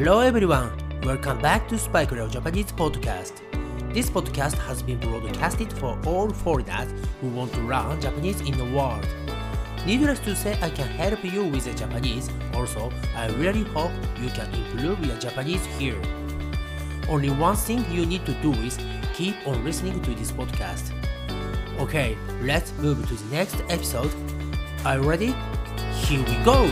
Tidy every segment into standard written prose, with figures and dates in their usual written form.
Hello everyone, welcome back to Spike Leo Japanese Podcast. This podcast has been broadcasted for all foreigners who want to learn Japanese in the world. Needless to say, I can help you with the Japanese. Also, I really hope you can improve your Japanese here. Only one thing you need to do is keep on listening to this podcast. Okay, let's move to the next episode. Are you ready? Here we go!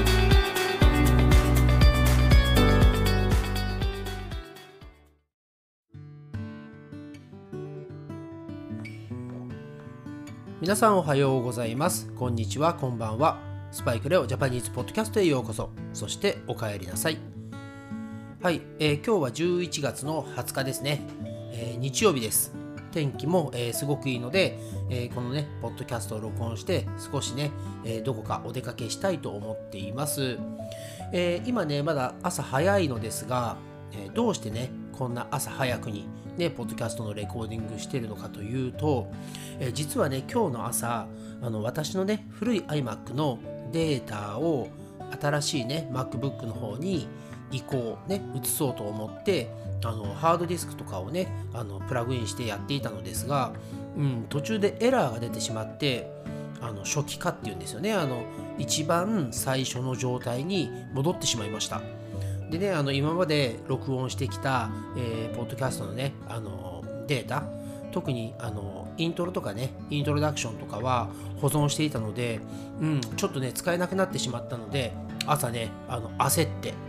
皆さんおはようございます。こんにちは、こんばんは。スパイクレオジャパニーズポッドキャストへようこそ。そしてお帰りなさい。はい、今日は11月の20日ですね。日曜日です。天気も、すごくいいので、このね、ポッドキャストを録音して少しね、どこかお出かけしたいと思っています。今ね、まだ朝早いのですが、どうしてね、こんな朝早くにね、ポッドキャストのレコーディングしているのかというと、実はね、今日の朝、私のね、古い iMac のデータを新しいね、MacBook の方に移行、ね、移そうと思って、ハードディスクとかをね、プラグインしてやっていたのですが、途中でエラーが出てしまって、初期化っていうんですよね。一番最初の状態に戻ってしまいました。でね、今まで録音してきた、ポッドキャストのね、データ、特にイントロとかね、イントロダクションとかは保存していたので、ちょっとね、使えなくなってしまったので、朝ね、焦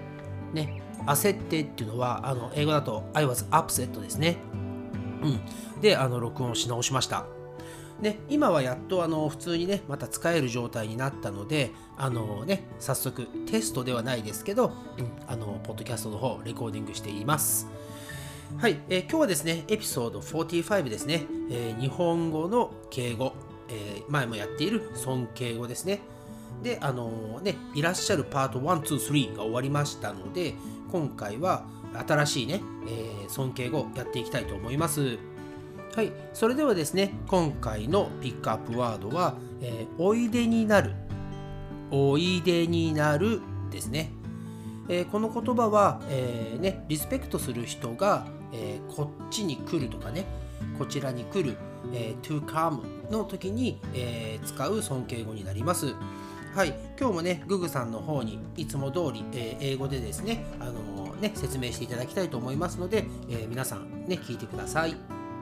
ってっていうのは、英語だと I was upset ですね。で、録音し直しました。ね、今はやっと普通にねまた使える状態になったので早速テストではないですけど、ポッドキャストの方レコーディングしています。はい、今日はですねエピソード45ですね、日本語の敬語、前もやっている尊敬語ですね。でいらっしゃるパート1、2、3が終わりましたので、今回は新しいね、尊敬語やっていきたいと思います。はい、それではですね、今回のピックアップワードは、おいでになる、おいでになるですね。この言葉は、リスペクトする人が、こっちに来るとかね、こちらに来る、to come の時に、使う尊敬語になります。はい、今日もね、ググさんの方にいつも通り、英語でですね、説明していただきたいと思いますので、皆さんね、聞いてください。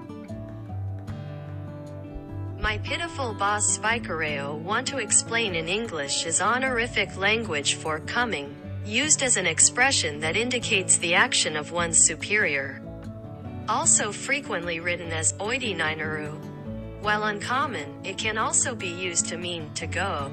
My pitiful boss Spikereo want to explain in English is honorific language for coming, used as an expression that indicates the action of one's superior. Also frequently written as oidinainaru. While uncommon, it can also be used to mean to go.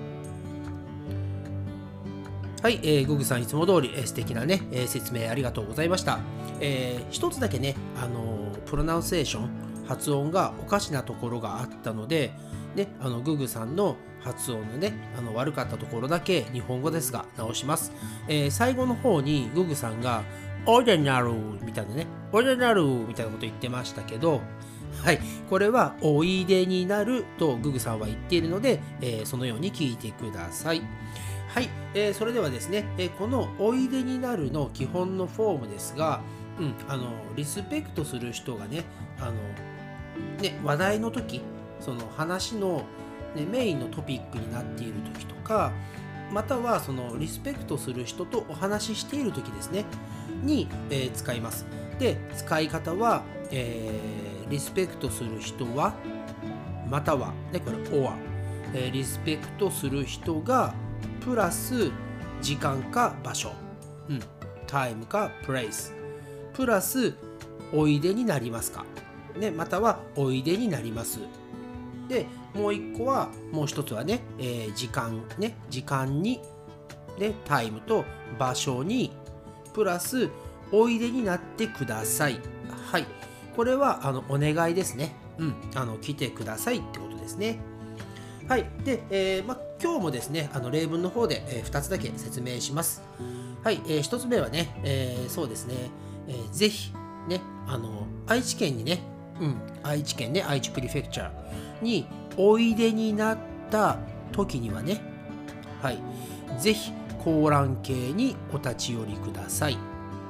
はい、ググさんいつも通り、素敵なね、説明ありがとうございました。一つだけね、プロナンセーション発音がおかしなところがあったので、ね、ググさんの発音のね、悪かったところだけ日本語ですが直します。最後の方にググさんがオイデナルみたいなね、オイデナルみたいなこと言ってましたけど、はい、これはおいでになるとググさんは言っているので、そのように聞いてください。はい、それではですね、このおいでになるの基本のフォームですが、リスペクトする人がね、話題の時、その話の、メインのトピックになっている時とか、またはそのリスペクトする人とお話ししている時ですねに、使います。で、使い方は、リスペクトする人はまたは、ね、これ or、リスペクトする人がプラス時間か場所、タイムかプレイスプラスおいでになりますか、ね、またはおいでになります。で、もう一個は、もう一つはね、時間に、ね、タイムと場所にプラスおいでになってください。はい、これはお願いですね。来てくださいってことですね。はい、で、今日もですね、例文の方で、2つだけ説明します。はい、1つ目はね、そうですね、ぜひね、愛知県にね、愛知県ね、愛知プリフェクチャーにおいでになった時にはね、はい、ぜひ香蘭渓にお立ち寄りください。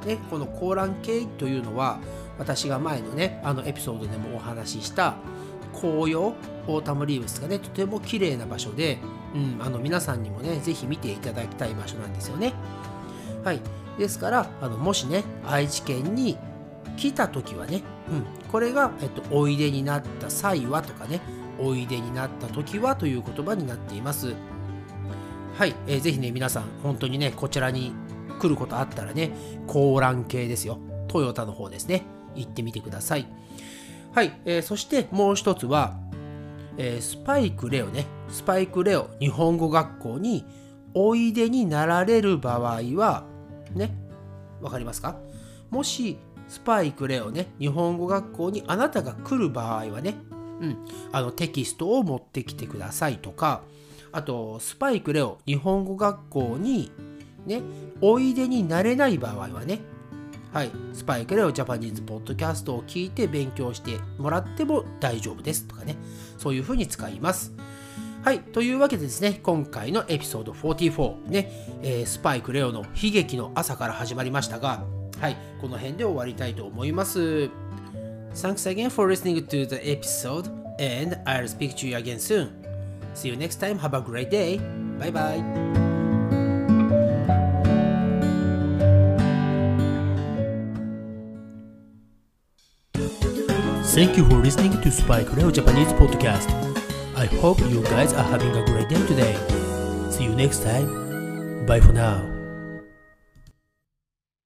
ね、このコーラン渓というのは私が前のねエピソードでもお話しした紅葉オータムリーブスがねとても綺麗な場所で、皆さんにもねぜひ見ていただきたい場所なんですよね。はい、ですからもしね愛知県に来た時はね、これが、おいでになった際はとかね、おいでになった時はという言葉になっています。はい、ぜひね皆さん本当にねこちらに来ることあったらね、コーラン渓ですよ、トヨタの方ですね、行ってみてください。はい、そしてもう一つは、スパイクレオ日本語学校においでになられる場合はね、わかりますか？もしスパイクレオね日本語学校にあなたが来る場合はね、テキストを持ってきてくださいとか、あとスパイクレオ日本語学校にねおいでになれない場合はね、はい、スパイクレオジャパニーズポッドキャストを聞いて勉強してもらっても大丈夫ですとかね、そういうふうに使います。はい、というわけでですね、今回のエピソード44ね、スパイクレオの悲劇の朝から始まりましたが、はい、この辺で終わりたいと思います。Thanks again for listening to the episode and I'll speak to you again soon. See you next time. Have a great day. Bye bye. Thank you for listening to Spike Leo Japanese Podcast. I hope you guys are having a great day today. See you next time. Bye for now.